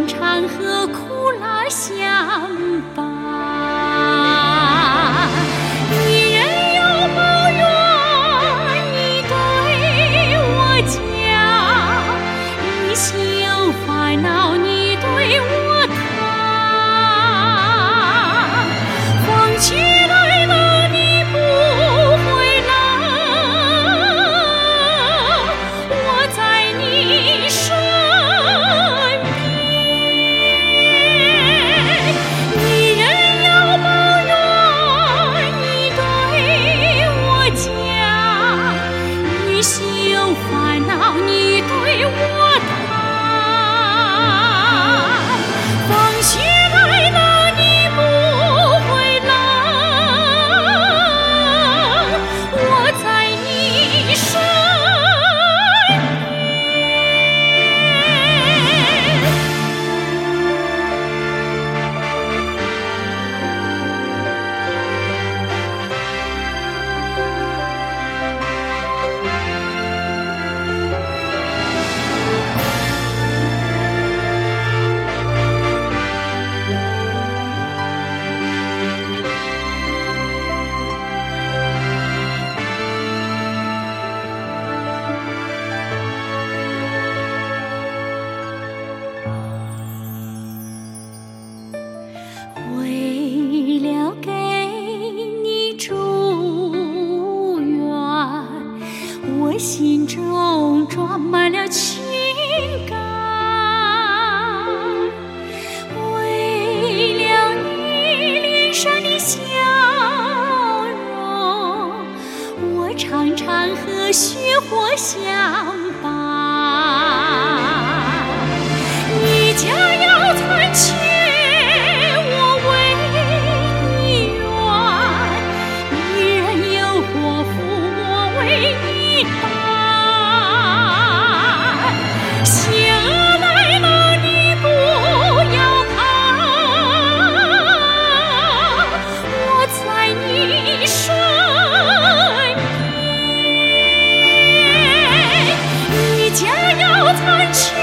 常常和苦辣相伴。你任有抱怨，你对我讲；你心有烦恼，你对我谈。风起来了，你不回来，我在你身边。你任有抱怨，你对我讲；你心有烦恼，你对我谈。风起来了，你不回来，我在你身为了给你祝愿，我心中装满了情感。为了你脸上的笑容，我常常和雪花相伴。你家要残缺，家要残缺。